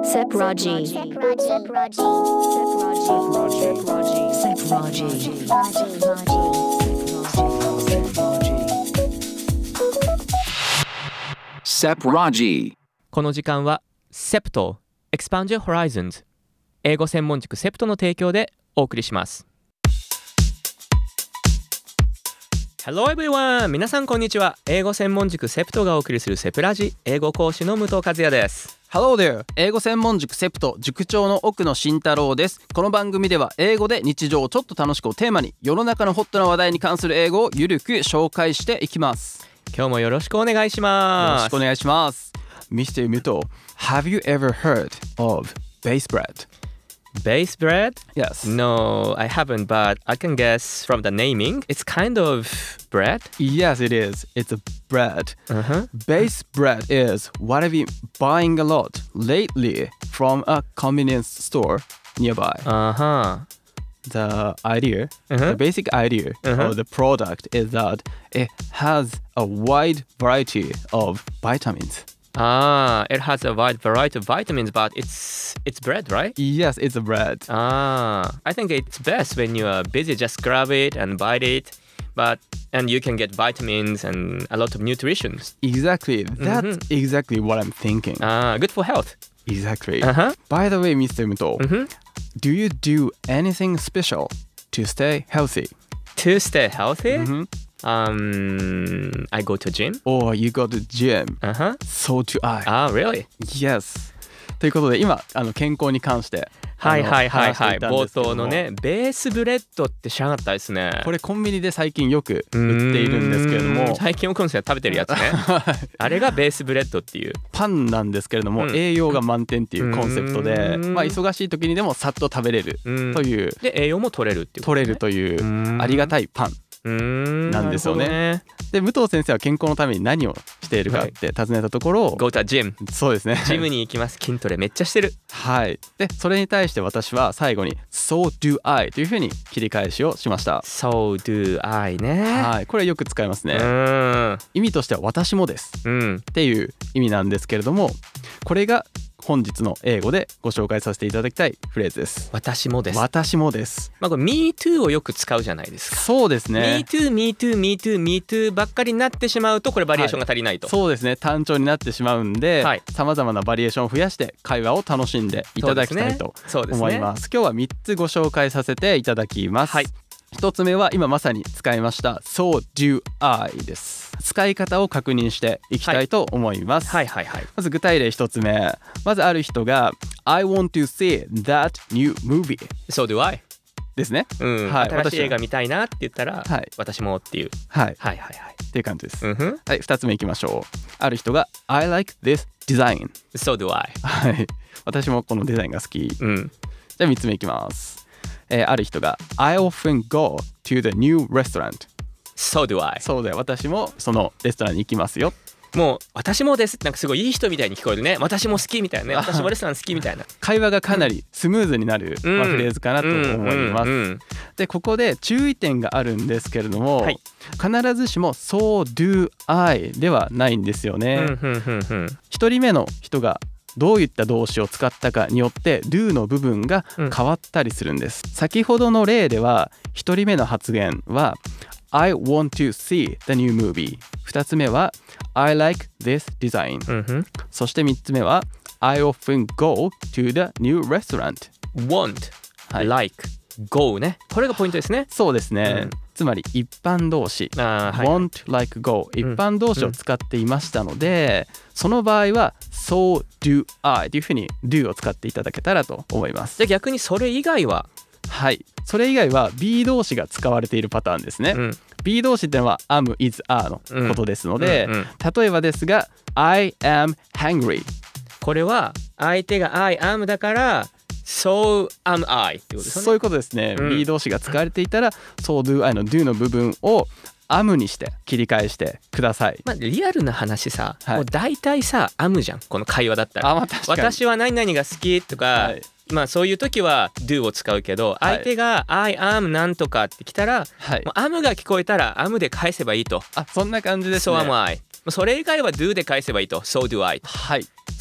Sepraji. Sepraji. この時間は SEPT Expand Your Horizons 英語専門塾 SEPT の提供でお送りします。Hello everyone! 皆さんこんにちは。英語専門塾 SEPT がお送りするセプラジ英語講師の武藤和也です。 Hello there! 英語専門塾 SEPT 塾長の奥野慎太郎です。この番組では英語で日常をちょっと楽しくをテーマに世の中のホットな話題に関する英語をゆるく紹介していきます。 今日もよろしくお願いします。 よろしくお願いします。Mr. 武藤 Have you ever heard of base bread?Base bread? Yes. No, I haven't, but I can guess from the naming. It's kind of bread? Yes, it is. It's a bread. Base bread is what I've been buying a lot lately from a convenience store nearby. The idea, the basic idea of the product is that it has a wide variety of vitamins. It has a wide variety of vitamins, but it's bread, right? Yes, it's a bread. I think it's best when you are busy, just grab it and bite it. And you can get vitamins and a lot of nutrition. Exactly. That's exactly what I'm thinking. Good for health. Exactly. By the way, Mr. Muto, do you do anything special to stay healthy? To stay healthy?I go to gym. Oh, you go to gym. So do I. Really? Yes. ということで今健康に関してはい冒頭のねベースブレッドって知らなかったですね。 これコンビニで最近よく売っているんですけれども、 最近奥野さんが食べてるやつねあれがベースブレッドっていうパンなんですけれども、栄養が満点っていうコンセプトで、忙しい時にでもさっと食べれるという、 で栄養も取れるっていうこと、 取れるというありがたいパンなんですよね。で武藤先生は健康のために何をしているかって尋ねたところ、 Go to gym。 そうですね、 ジムに行きます。筋トレめっちゃしてる。 はい。でそれに対して私は最後に So do I というふうに切り返しをしました。 So do I ね。 はい、これよく使いますね。意味としては私もです、っていう意味なんですけれども、これが本日の英語でご紹介させていただきたいフレーズです。 私もです。 私もです。 これ Me too をよく使うじゃないですか。 そうですね。 Me too, Me too, Me too, Me too ばっかりになってしまうとこれバリエーションが足りないと、 そうですね、単調になってしまうんで、さまざまなバリエーションを増やして会話を楽しんでいただきたいと思います。今日は3つご紹介させていただきます。1つ目は今まさに使いました So do I です。使い方を確認していきたいと思います。まず具体例1つ目。まずある人が I want to see that new movie So do I ですね。 新しい映画見たいなって言ったら、私もっていうっていう感じです。2つ目いきましょう。ある人が I like this design So do I 私もこのデザインが好き。じゃあ3つ目いきます。ある人が I often go to the new restaurant So do I そうだよ、私もそのレストランに行きますよ。 もう私もですなんかすごいいい人みたいに聞こえるね。私も好きみたいなね。私もレストラン好きみたいな会話がかなりスムーズになる、フレーズかなと思います。でここで注意点があるんですけれども、必ずしも So do I ではないんですよね。一人目の人がどういった動詞を使ったかによって do の部分が変わったりするんです。先ほどの例では一人目の発言は I want to see the new movie。 二つ目は I like this design。そして三つ目は I often go to the new restaurant。 want、like、go ね。これがポイントですね。 そうですね、つまり一般動詞、want, like, go 一般動詞を使っていましたので、その場合は So do I というふうに do を使っていただけたらと思います。 じゃあ逆にそれ以外はそれ以外は be 動詞が使われているパターンですね。be 動詞ってのは am, is, are のことですので、例えばですが I am hungry。 これは相手が I am だからSo am I ってことですね。 そういうことですね。be 動詞が使われていたら So do I の do の部分をam にして切り返してください。 リアルな話さ、もう大体さ am じゃんこの会話だったら。私は何々が好きとか、そういう時は do を使うけど、相手が I am なんとかってきたら、もう am が聞こえたら am で返せばいいと。 そんな感じですね。 So am I。それ以外は do で返せばいいと。So do I。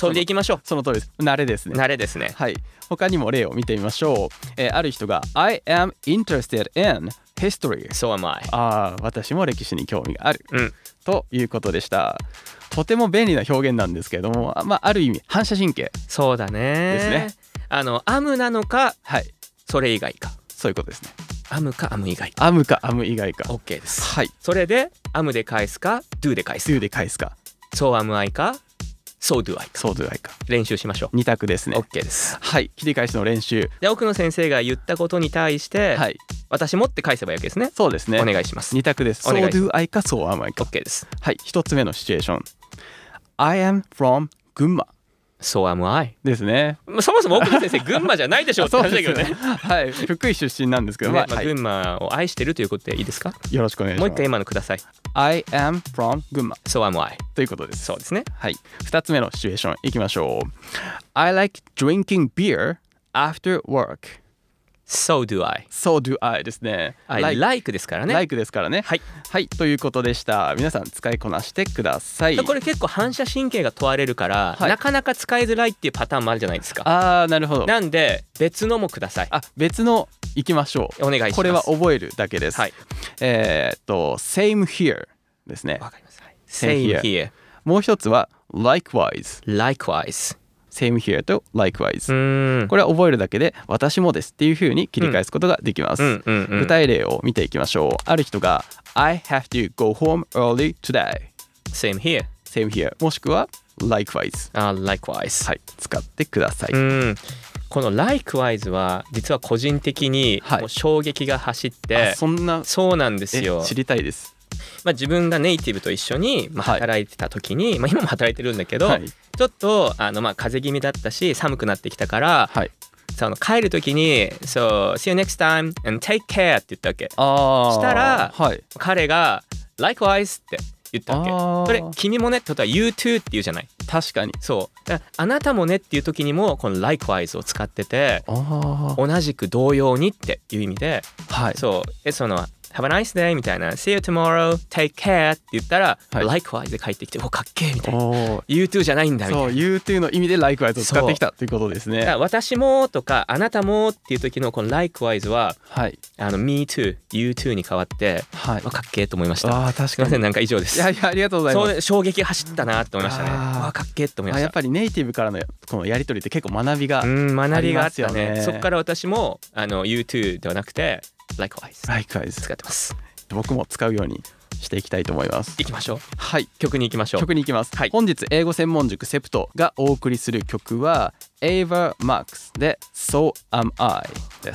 それでいきましょう。 その通りです。慣れですね。 慣れですね。 はい。他にも例を見てみましょう。ある人が I am interested in history. So am I. 私も歴史に興味がある、ということでした。とても便利な表現なんですけれども、ある意味反射神経。 そうだね。 ですね。 am なのか、 はい、 それ以外か。 そういうことですね。 am か am 以外か。 am か am 以外か。 OK です。 はい。 それで am で返すか do で返すか。 do で返すか。 So am I か So do I か。 So do I か。 練習しましょう。 2択ですね。 OK です。 はい。切り返しの練習で、奥野先生が言ったことに対して、はい、私もって返せばいいわけですね。 そうですね。 お願いします。 2択です。 So do I か So am I か。 OK です。 はい。1つ目のシチュエーション。I am from 群馬。 So am I ですね。 そもそも奥野先生群馬じゃないでしょうって話だけどね。 はい。福井出身なんですけど、 群馬を愛してるということでいいですか？ よろしくお願いします。 もう一回今のください。 I am from 群馬。 So am I ということです。 そうですね。 はい。2つ目のシチュエーションいきましょう。I like drinking beer after work。So do I. So do I ですね。 like ですからね。 like ですからね。はい。はい。ということでした。皆さん使いこなしてください。 これ結構反射神経が問われるから、なかなか使いづらいっていうパターンもあるじゃないですか。 なるほど。 なんで別のもください。 別のいきましょう。 お願いします。 これは覚えるだけです。はい。same here ですね。 わかります。same here。 もう一つは likewise。Likewise。Same here と likewise。これは覚えるだけで私もですっていう風に切り返すことができます。具体例を見ていきましょう。ある人が I have to go home early today。Same here。Same here。もしくは likewise。 likewise。 はい。使ってください。 この likewise は実は個人的にもう衝撃が走って、そうなんですよ。 知りたいです。 自分がネイティブと一緒に働いてた時に、今も働いてるんだけど、ちょっと風邪気味だったし寒くなってきたから、帰る時に「So see you next time and take care」って言ったわけ。したら、彼が「likewise」って言ったわけ。それ君もねってことは you too って言うじゃない。 確かに。 そうあなたもねっていう時にもこの likewise を使ってて、同じく同様にっていう意味で、そうそのHave a nice day みたいな See you tomorrow, take care って言ったら、likewise で帰ってきて、かっけーみたいな You too じゃないんだみたいな。 そう You too の意味で likewise を使ってきたということですね。 私もとかあなたもっていう時のこの likewise は、me too, you too に変わって、かっけーと思いました。 確かに。 すいません、なんか以上です。 いやありがとうございます。 衝撃走ったなと思いましたね。かっけーと思いました。 やっぱりネイティブからのこのやり取りって結構学びがありますよね。 そこから私もyou too ではなくて likewise 使ってます。 僕も使うようにしていきたいと思います。 行きましょう。 はい。 曲に行きましょう。 曲に行きます。本日英語専門塾セプトがお送りする曲は Ava Max で So Am I です。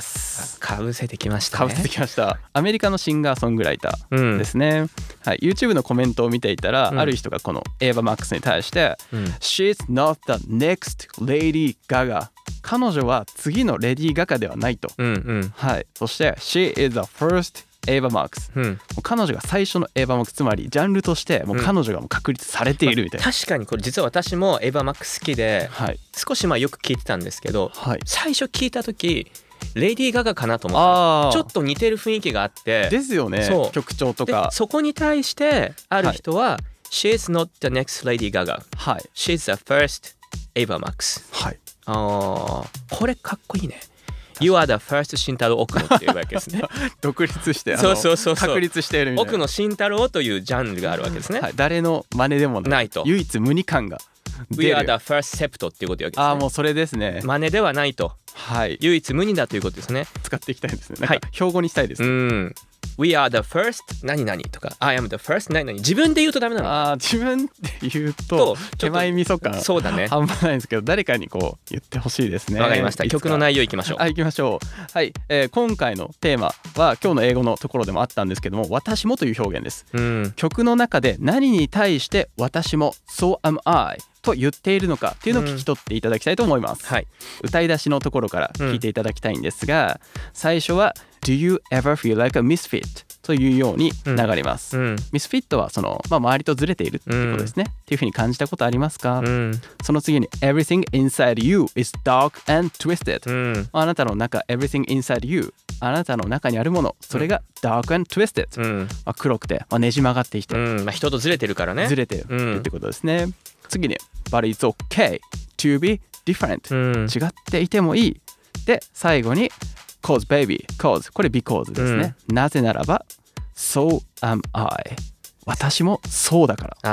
かぶせてきましたね。 かぶせてきました。アメリカのシンガーソングライターですね。はい。YouTube のコメントを見ていたら、ある人がこの Ava Max に対して、She's not the next Lady Gaga。彼女は次のレディー・ガガではないと。はい。そして She is the firstエヴァ・マークス、彼女が最初のエヴァ・マークス、つまりジャンルとしてもう彼女がもう確立されているみたいな、 確かにこれ実は私もエヴァ・マークス好きで、少しよく聞いてたんですけど、最初聞いた時レディー・ガガかなと思った。ちょっと似てる雰囲気があってですよね。曲調とかそこに対してある人は、She's not the next Lady Gaga、She's the first エヴァ・マークス。これかっこいいね。You are the first 慎太郎奥野っていうわけですね。 独立して確立しているみたいな。 奥野慎太郎というジャンルがあるわけですね。 誰の真似でもないと。唯一無二感が出る。 We are the first sept っていうことわけですね。 もうそれですね。 真似ではないと。唯一無二だということですね。 使っていきたいですね。なんか標語にしたいです。 We are the first 何々とか I am the first 何々自分で言うとダメなの。 自分で言うと手前味噌感そうだね。 半端ないんですけど、誰かにこう言ってほしいですね。 わかりました。曲の内容いきましょう。 行きましょう。はい。今回のテーマは今日の英語のところでもあったんですけども、私もという表現です。曲の中で何に対して私も So am Iと言っているのかっていうのを聞き取っていただきたいと思います。歌い出しのところから聞いていただきたいんですが、最初は Do you ever feel like a misfit? というように流れます。ミスフィットはその、周りとずれているっていうことですね。っていうふうに感じたことありますか？その次に Everything inside you is dark and twisted。あなたの中 Everything inside you あなたの中にあるもの、それが dark and twisted。黒くて、ねじ曲がってきて、 人とずれてるからね。 ずれてるってことですね。次に But it's okay to be different、違っていてもいい。で最後に cause baby cause これ because ですね、なぜならば so am I 私もそうだから。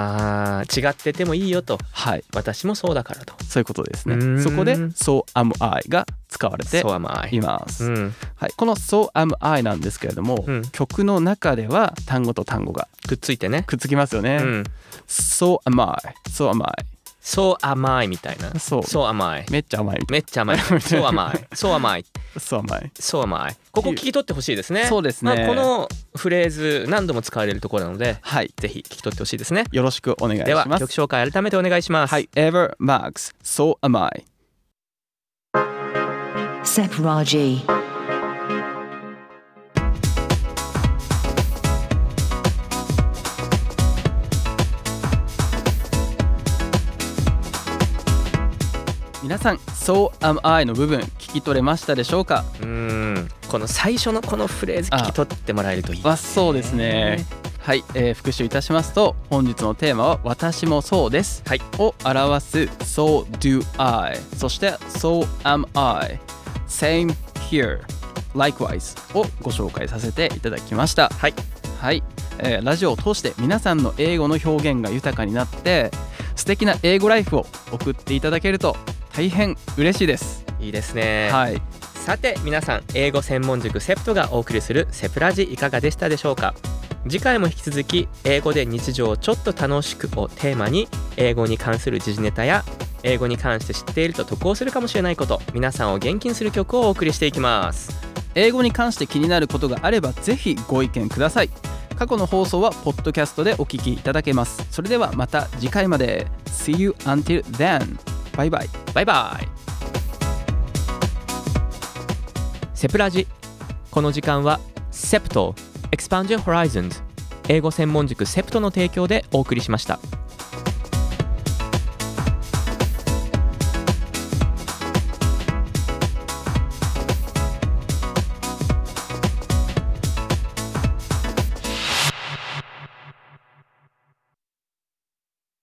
違っててもいいよと、 はい、 私もそうだからと、 そういうことですね。そこで so am I が使われています、はい、この so am I なんですけれども、曲の中では単語と単語がくっついてね、 くっつきますよね、so am I so am I So am I みたいな。So am I めっちゃ甘い。 めっちゃ甘い。So am I So am I So am I So am I ここ聞き取ってほしいですね。 そうですね、 このフレーズ何度も使われるところなので、 はい、 ぜひ聞き取ってほしいですね。 よろしくお願いします。 では曲紹介改めてお願いします。 はい、Ever Max So am I Sep Raji 皆さん So am I の部分聞き取れましたでしょうか。 この最初のこのフレーズ聞き取ってもらえるといいですね。 そうですね。はい、復習いたしますと、本日のテーマは私もそうです、はい、を表す So do I、 そして So am I、 Same here Likewise をご紹介させていただきました。はい、はい、ラジオを通して皆さんの英語の表現が豊かになって素敵な英語ライフを送っていただけると大変嬉しいです。 いいですね。 はい、 さて皆さん、英語専門塾セプトがお送りするセプラジいかがでしたでしょうか。次回も引き続き英語で日常をちょっと楽しくをテーマに、英語に関する時事ネタや英語に関して知っていると得をするかもしれないこと、皆さんを元気にする曲をお送りしていきます。 英語に関して気になることがあればぜひご意見ください。過去の放送はポッドキャストでお聞きいただけます。それではまた次回まで。 See you until then。 バイバイ。 バイバイ。セプラジ、この時間はセプト Expand Your Horizons 英語専門塾セプトの提供でお送りしました。